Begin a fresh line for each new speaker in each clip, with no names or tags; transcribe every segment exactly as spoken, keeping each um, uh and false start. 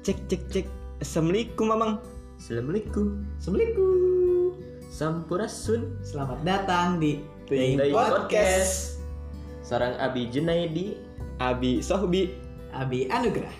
Cek cek cek. Assalamualaikum mamang.
Assalamualaikum. Assalamualaikum. Sampurasun.
Selamat datang di
Teuing
Teuing
Podcast.
Podcast.
Sareng Abi Junaidi,
Abi Sohbi,
Abi Anugrah.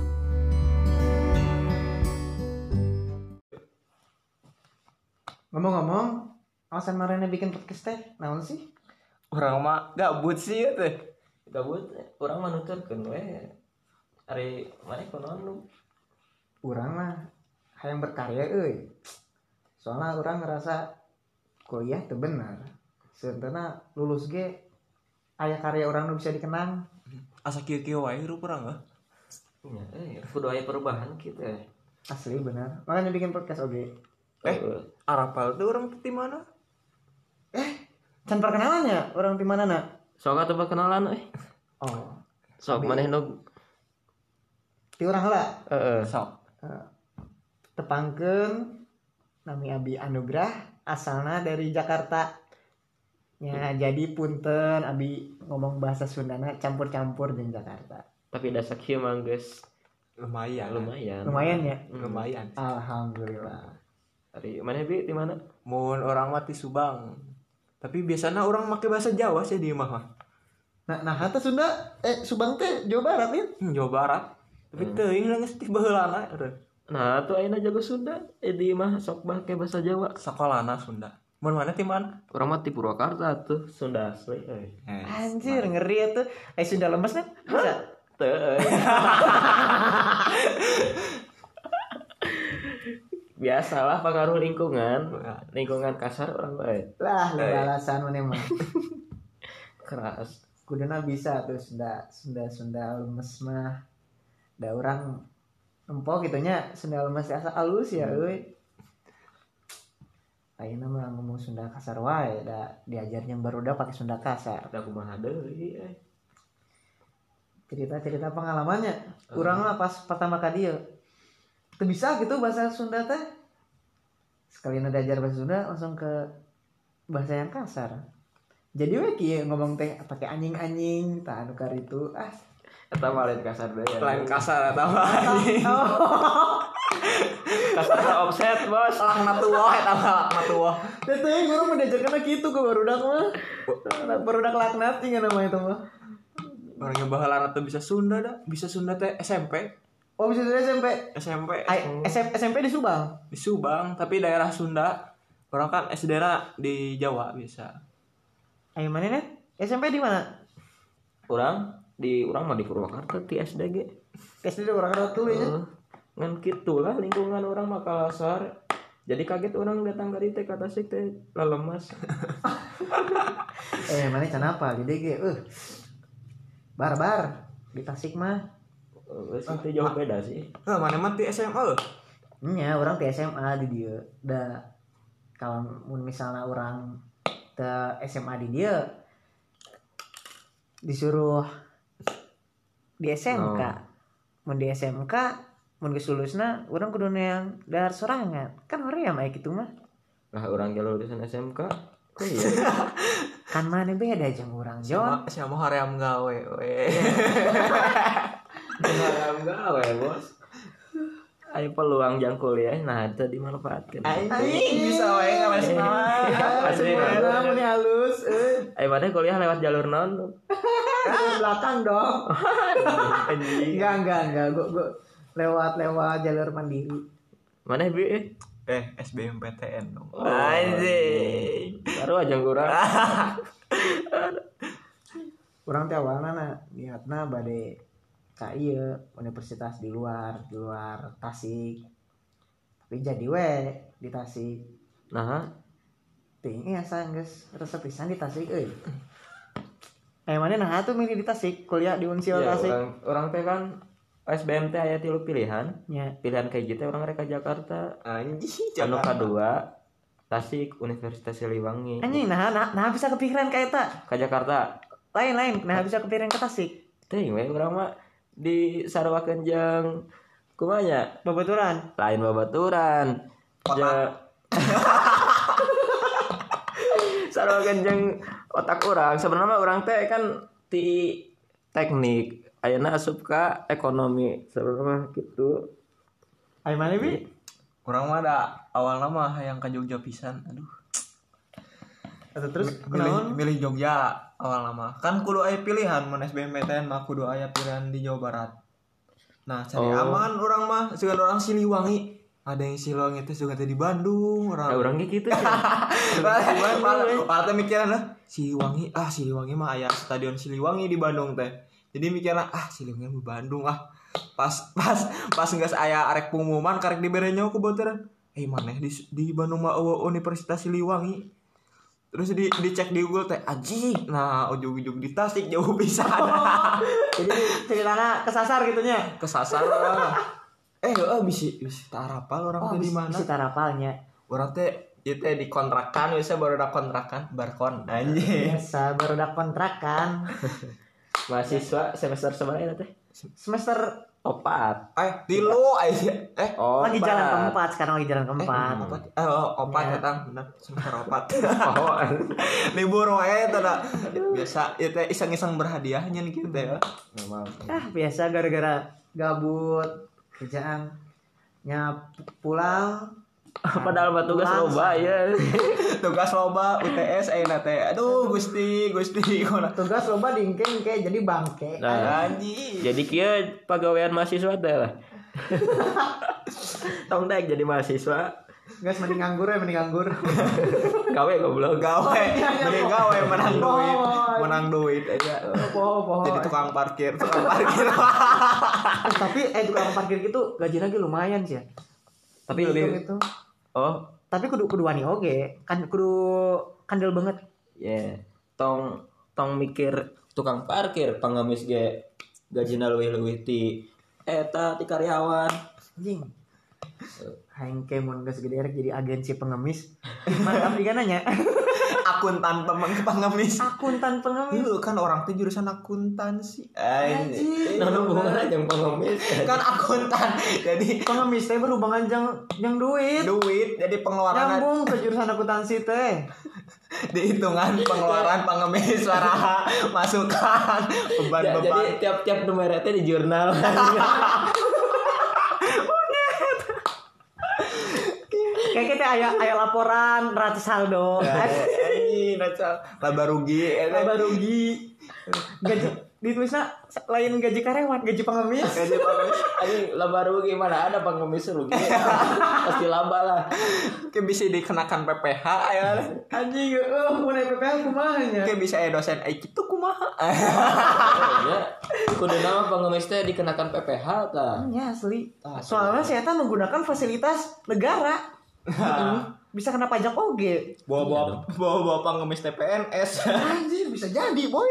Ngomong-ngomong, alasan marahnya bikin podcast teh, naon sih?
urang mah gabut sih ya teh. Gabut, urang mah nuturkeun we. Ari maneh kunaon lu?
Urang mah hayang berkarya euy. Soalnya urang ngerasa kuliah teu bener. Seunteuna lulus ge aya karya urang nu bisa dikenang.
asa kieu-kieu wae hirup urang ah.
Ya, eh kudu aya perubahan kitu eh.
Asli bener. Makanya bikin podcast oge.
Eh, arapal tuh urang di mana?
Eh, can perkenalannya urang di mana na?
Sok atuh perkenalan euy.
Oh,
Sok
Abi.
maneh nu
ti urang heula.
heeh.
Sok.
Uh, tepangkeun nami Abi Anugrah, asalna dari Jakarta. Ya, jadi punten Abi ngomong bahasa Sundana campur-campur jeung Jakarta.
Tapi dasar kieu mah geus
Lumayan.
lumayan.
Lumayan ya?
Lumayan.
Alhamdulillah.
Ari maneh bi di mana?
Mun orang mati Subang. Tapi biasanya orang make bahasa Jawa sih di imah mah.
Nah, nah eta Sunda eh Subang teh Jawa Barat ya?
Hmm, Jawa Barat. Tapi teuing lah geus ti baheulana.
Nah, tuh ayeuna jago Sunda, eh di mah sok make bahasa Jawa.
Sakolana Sunda. Mun mana ti mana?
Urang mah ti Purwakarta tuh, Sunda asli euy.
Anjir, ngeri ya tuh. Eh Sunda lemes kan? Bisa.
Teu euy. Biasalah pengaruh lingkungan. Lingkungan kasar orang bae.
Lah, alasan mana mah.
Keras.
Kuduna bisa tuh Sunda Sunda Sunda lemes mah. Da urang empok gitunya Sunda lemes asa alus ya euy. Ayeuna mah ngomong Sunda kasar wae da diajarnya barudak pakai Sunda kasar.
Ada kumaha deui euy.
Cerita-cerita pengalamannya. Urang mah pas pertama ka dieu teu bisa gitu bahasa Sunda teh. Sekali na diajar bahasa Sunda langsung ke bahasa yang kasar. Jadi we kieu ngomong teh pakai anjing-anjing tah anu karitu ah.
Eta mah lain kasar deui.
Lain kasar eta mah.
Kasar offset, Bos.
Lah matuah eta mah matuah.
Teh teh guru mah diajarkeun kitu ke barudak mah. Barudak laknat tinggal nama itu mah.
Orangnya baheulana teu bisa Sunda dah. Bisa Sunda teh S M P.
Oh bisa dari S M P.
S M P.
Ay, S M S M P di Subang.
Di Subang, tapi daerah Sunda. Orang kan S D-na di Jawa biasa.
Ayo mana net? S M P di mana?
Urang di urang mah di Purwakarta ti S D G.
S D di orang tuh ya.
Uh, ngan kitulah lingkungan orang mah kasar. Jadi kaget orang datang dari teh kata sih teh lemas.
Eh mana kenapa? Di D G. Eh. Barbar di Tasik mah.
Wes itu jauh beda sih.
Heh, mana mah ti S M A?
Nya orang di S M A di dia. Da kalau mun misalnya orang ke S M A di dia disuruh di S M K.
Oh.
Mun di S M K mun geus lulusna urang kudu yang dahar sorangan. Kan hoream aya kitu mah.
Lah orang jalur lulusan S M K. Kok iya?
Kan mana beda jeung urang Jon.
Siapa hoream gawe we.
Haram gawe, Bos. Ayo peluang jang kuliah nah itu dimanfaatkeun.
Anjing bisa wae ngawas mah.
Asli.
Mun halus euy.
Ayo mana kuliah lewat jalur non?
Belakang dong.
Anjing.
Enggak enggak enggak gua gua lewat lewat jalur mandiri.
Mana bi? Eh,
Eh, S B M P T N dong.
anjing. Baru aja kurang.
Urang teh awalna na niatna bade ka ieu universitas di luar, di luar Tasik. Tapi jadi we di Tasik.
Nah,
Ting asa geus resep pisan di Tasik euy. Eh mana nah atuh milih di Tasik, kuliah di Unsil
ya,
Tasik.
orang orang teh kan S B M teh aya tilu pilihan.
Nya.
Pilihan kayak gitu orang reka Jakarta.
Anjing,
Anu kadua Tasik Universitas Siliwangi.
Anjing nah nah, nah bisa kepikiran ka eta.
Ka Jakarta.
Lain-lain nah bisa kepikiran ke Tasik.
Teuing we urang mah di sarwakeun jeung kumanya
Babaturan.
lain babaturan. Ja sarwakeun jeung otak urang. Sebenarnya urang teh kan ti teknik. Ayeuna asup ka ekonomi sebenarnya gitu.
Ai mana bi?
Kurang mah ada awal nama yang ke Jogja pisan. Aduh.
Atau terus
milih
kenaon?
milih Jogja awal nama. Kan kudu aya pilihan mun S B M P T N mah kudu aya pilihan di Jawa Barat. Nah, cari
Oh.
aman orang mah segan orang Siliwangi. Ada yang Siliwangi itu juga di Bandung, orang.
Ya urang ge kitu cenah.
Malah mikiran lah Siliwangi, ah Siliwangi mah aya stadion Siliwangi di Bandung teh. Jadi mikirna ah Siliwangi di Bandung ah. Pas pas pas geus aya arek pengumuman karek dibere nyawa ku boteran. Eh maneh di di Bandung mah eueuh Universitas Siliwangi. Terus di dicek di Google teh anjing. Nah, ujug-ujug di Tasik jauh pisan.
Jadi ceritanya kesasar gitunya.
Kesasar lah. Eh, heeh bisi bisi tarapal orang teh di mana?
Si tarapalnya.
Orang teh ieu teh di kontrakan biasa baru ada kontrakan, barkon anjing.
Biasa baru ada kontrakan.
Mahasiswa semester sabaraha teh?
Semester
Opat.
Eh, tilu aja. Eh,
Oh,
lagi
opat.
jalan keempat, sekarang lagi jalan keempat.
apa? Eh, oh, opat
Ya.
datang, benar. Semester opat.
Oh,
Libur wae teh da. Biasa ieu teh iseng-iseng berhadiahnya nih kitu teh.
memang.
Ah, biasa gara-gara gabut kerjaan nyap pulang.
Padahal mah tugas
Pulang,
loba ya.
Tugas loba U T S ayeuna teh. Aduh, Gusti, Gusti kona.
Tugas loba dingking kayak jadi bangke.
Nah,
Anjing.
jadi kieu pagawean mahasiswa teh lah. Tong daek jadi mahasiswa.
Guys mending nganggur ya, mending nganggur.
Gawe goblok.
Gawe, mending gawe menang duit,
Oh.
menang duit aja.
Poho poho.
Jadi tukang parkir, tukang parkir.
Eh, tapi eh tukang parkir gitu gaji lagi lumayan sih ya.
Tapi lebih
itu.
oh,
Tapi kudu kudu wani oge, kan kudu kandel banget.
ya. Tong tong mikir tukang parkir pangemis ge gajina leuwih-leuwih ti eta ti karyawan.
Anjing. Haing ke mun geus gede rek jadi agensi pengemis. Mantap juga nanya.
Akuntan pemeng pengemis.
Akuntan pengemis.
Iya kan orang teh jurusan akuntansi. Anjing.
Nah, hubunganna jeung pengemis.
Kan akuntan. Jadi
Pengemis teh berhubungan jang jang duit.
duit jadi pengeluaran
Nyambung ke jurusan akuntansi teh.
dihitungan pengeluaran pengemis suara masukan
Ja- jadi
beban-beban.
tiap-tiap nomor teh di jurnal.
Kayak kita aya aya laporan ratus saldo.
Anjing, nacal laba rugi eta.
Laba rugi. Gaji ditulisna lain gaji karyawan, gaji pengemis.
Gaji pengemis anjing laba rugi mana ada pengemis rugi. Pasti laba lah.
Kayak bisa dikenakan P P H ya.
Anjing, eh mun P P H kumaha nya?
Kayak bisa ya dosen eh kitu kumaha.
Ya. Kudu nama pengemis teh dikenakan P P H tah.
Ya asli.
Ah,
Soalnya saya tuh menggunakan fasilitas negara. Bisa kena pajak oge.
Bawa-bawa bawa-bawa pengemis T P N S.
Anjir, bisa jadi, boy.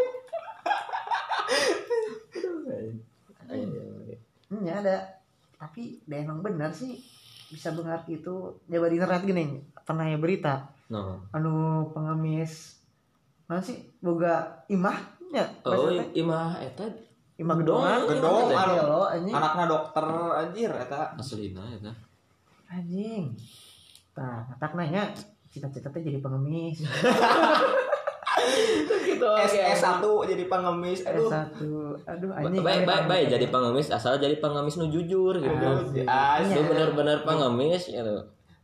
Hmm, ya ada. Tapi dia emang benar sih bisa bengar gitu. Coba di internet gini, pernah ya berita.
No.
Anu pengemis mana sih boga imah ya?
Oh,
Maksudnya,
imah eta
imah gedongan.
Gedong
Iya,
anu
lo, anjing.
anakna dokter anjir eta.
aslina eta.
Anjing. Tah, tak nanya cita-cita teh jadi pengemis.
Gitu.
S S satu jadi pengemis.
S
Aduh.
satu. Aduh anjing.
Baik baik
aneh.
baik jadi pengemis asal jadi pengemis nu jujur gitu.
Asik.
Asli
Iya.
bener-bener pengemis gitu.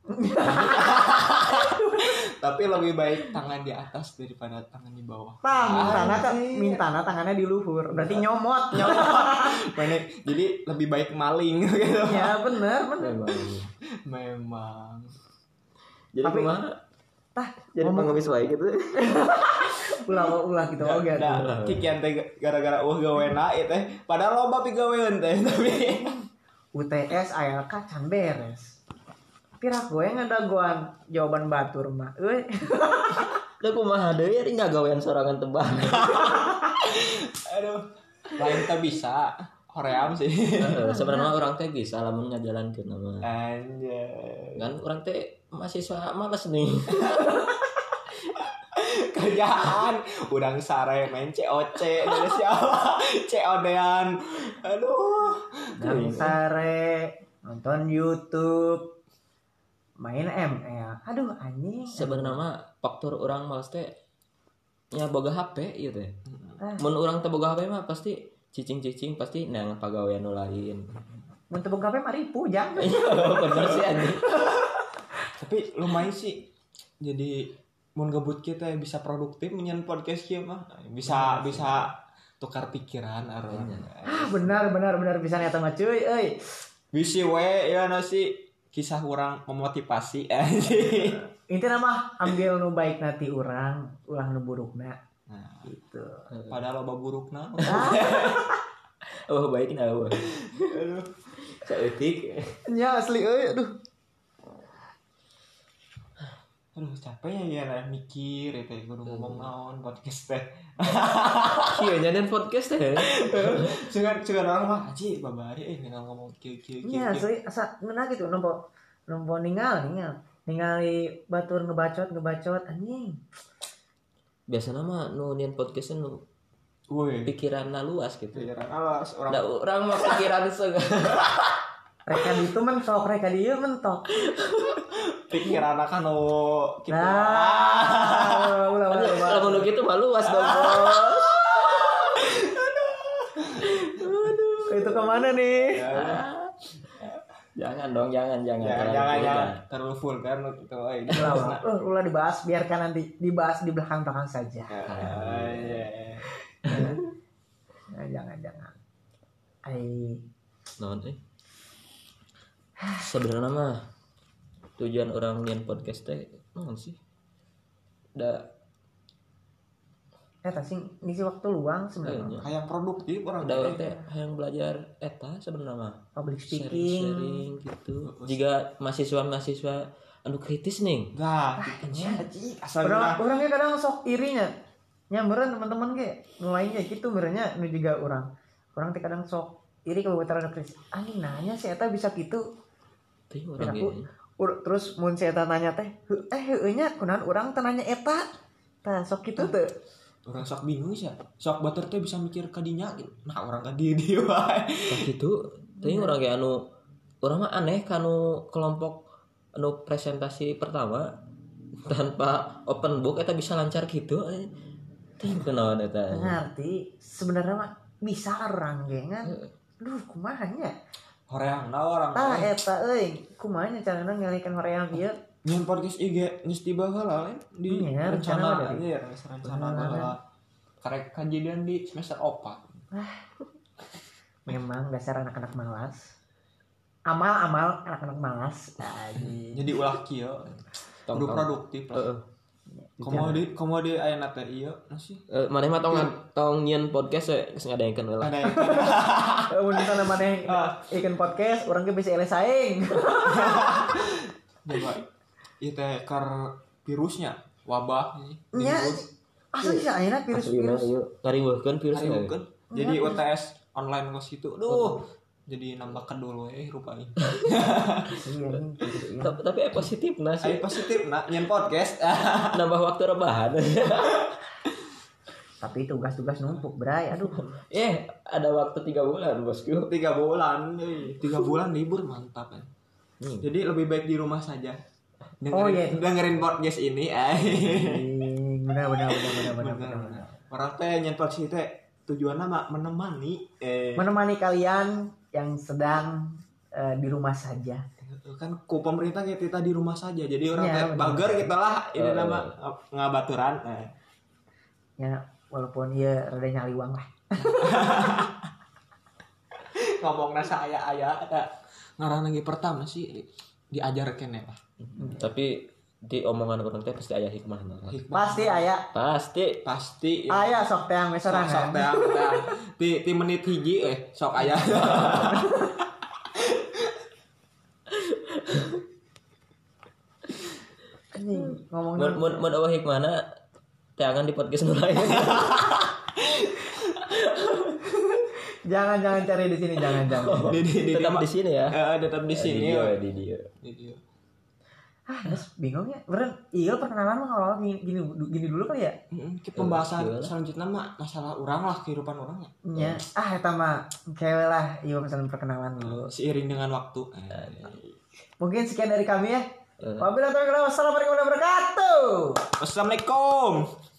Tapi lebih baik tangan di atas daripada tangan di bawah.
Tah, mintana kan
Anjing.
mintana tangannya di luhur. Berarti nyomot.
Mana jadi lebih baik maling gitu.
Ya bener bener.
Memang.
Memang.
Jadi
Tapi-
kumaha?
Tah,
Jadi
ngomong
pengemis baik gitu.
ulah ulah gitu oge
Nah,
atuh.
kikian teh gara-gara uh gawena ieu teh. Padahal loba pigaweun teh tapi
U T S A L K can beres. Pirak gue ngadagoan jawaban batur mah. Euy.
Da kumaha deui ari ngagawean sorangan tebak.
aduh lain teh bisa. Hoream sih.
Heeh, sebenarnya orang teh bisa lamun ngajalankeun mah.
Anjay.
Kan orang teh mahasiswa males nih.
Kerjaan udang sare main C O C dari siapa? C O D-an. Aduh.
Nang sare nonton YouTube main M L. Aduh anjing.
Sebenarnya mah faktor orang males teh nya boga H P ieu teh.
Ah.
Mun urang teh boga H P mah pasti cicing-cicing pasti nang pagawean nu lain.
mun teu boga H P mah ribu jangan.
Bener sih anjing.
Tapi lumayan sih. Jadi mun gabut kita bisa produktif menyen podcast kieu mah. Bisa bisa tukar pikiran aron.
Ah benar benar benar bisa nyata mah cuy euy.
Bisi we ya nasi kisah orang memotivasi anjing.
Intinya mah ambil nu baik nanti urang, ulah nu burukna.
Nah,
Gitu.
padahal loba burukna.
Oh baik nah.
Aduh.
Saeutik.
Nya asli euy aduh.
Aduh capek ya ya mikir eta kudu ngomong naon podcast teh.
Kieu nyadan podcast teh.
Jangan jangan orang mah aji babari eh ninggal ngomong kieu kieu kieu.
Nya asli asa ngeuna gitu nompo nompo ningal ningal. Ningali batur ngebacot ngebacot anjing.
Biasana mah nu nyen podcast nu
Woi.
pikiranna luas gitu.
Pikiran alas orang.
Da urang mah pikiran segala.
Reka ditu mentok, reka dieu mentok.
Pikiran akan no kita.
Nah, ulah ulah ulah.
Kalau nu kitu mah luas dong, Bos.
Itu kemana nih?
Jangan dong, jangan, jangan.
Jangan
Terlalu
jangan
full,
jangan terlalu full kan gitu.
Ulah ulah. Uh, ulah dibahas, biarkan nanti dibahas di belakang-belakang saja. Nah, jangan jangan. Ai
Naon eh? Sebenarnya mah tujuan orang nyen podcast teh naon sih? Da
eta sing ngisi waktu luang sebenarnya.
Hayang produktif orang
da urang teh hayang belajar eta sebenarnya mah.
Public speaking.
Sharing-sharing gitu. Jika mahasiswa-mahasiswa anu kritis nih.
Nah,
Nya.
asal
Orang orangnya kadang sok irinya. Nya meureun teman-teman ge nu lainnya gitu meureunnya nu juga orang. Orang teh kadang sok iri kalau bataran kritis. Anjing nanya si eta bisa gitu.
Teh
Dan
urang
aku
ge.
ur- terus mun si eta nanya teh, "Heuh, eh heueuh nya kunaon urang teh nanya eta?" Tah sok kitu teh.
orang sok bingung sih. Sok batur teh bisa mikir ka dinya gitu. Nah, orang ka dieu dieu wae.
Tah kitu teh urang ge anu urang mah aneh kanu kelompok anu presentasi pertama tanpa open book eta bisa lancar gitu. Teh kunaon eta.
Ngerti sebenarnya mah bisa orang ge kan. Duh kumaha nya?
Horeang na orang.
Tah eta euy, kumaha nya carana ngalikeun hoream ieu?
Nyen podcast I G geus tiba heula lain di
Iya, rencana
rencana
mah
ya rencana heula. Karek kejadian di semester opat.
Memang dasar anak-anak malas. Amal-amal anak-anak malas. Anjing.
Jadi ulah kieu.
Tong-
Kudu
tong.
produktif.
Heeh.
Komodi komodi aya na teh ieu sih.
Eh, maneh mah tong tong nyen podcast we geus ngadaengkeun heula.
Ada yang
Mun kita maneh ikan podcast, urang ge bisa eleh saing.
coba ieu teh kar virusnya wabah ini.
Nya asal bisa ayeuna
Aslina
virus-virus.
ieu ngariweuhkeun virus we.
Hariukeun. Jadi U T S online kos itu. Duh. Jadi nambah kedul we rupanya.
Iya anjing, gitu, iya.
Tapi tapi eh, positifna
Ayo
sih.
positif nak nyen podcast.
Nambah waktu rebahan.
Tapi tugas-tugas numpuk, Bray. Aduh.
Eh, ada waktu tiga bulan, Bosku.
Tiga bulan, euy. Tiga bulan libur mantap kan.
Hmm.
Jadi lebih baik di rumah saja. Dengerin,
Oh, iya.
dengerin podcast ini. Eh.
Anjing, benar benar benar benar benar
Bener.
benar.
Orang teh nyen podcast teh tujuanna mah menemani eh
Menemani kalian yang sedang eh, di rumah saja.
kan ku pemerintah kita di rumah saja. Jadi orang
Ya,
teh
bener.
bager kita lah ini
Oh,
nama ngabaturan. Eh.
Ya, walaupun ieu rada nyaliwang lah.
Ngomongna saya aya ada ngaran lagi pertama sih diajarkeun ya.
Tapi di omongan orang teh pasti aya hikmahna.
Hikmah.
Pasti aya.
Pasti.
Pasti ya.
Aya sok teh
Sok sok
mesorangan.
teh teh. Ti ti menit hiji eh sok aya.
Anjing, ngomong
Mun mun mun eueuh hikmahna teh angan di podcast nu lain.
jangan jangan cari di sini jangan jangan.
Di di di
Tetap
di-
di sini ya.
Eh, tetap di sini.
Di dia,
ya.
di dia.
Di dia.
Ah, terus bingung ya. Beneran, iya perkenalan mah kalau gini, gini gini dulu kali ya.
Heeh, ke pembahasan
Iya.
selanjutnya mah masalah orang lah kehidupan orangnya.
Nya, ah eta mah kewe lah, iya misalnya perkenalan dulu.
Seiring dengan waktu. Eh.
Mungkin sekian dari kami ya.
Eh.
Wabillahi taufiq wal hidayah. Wassalamualaikum warahmatullahi wabarakatuh.
Wassalamualaikum.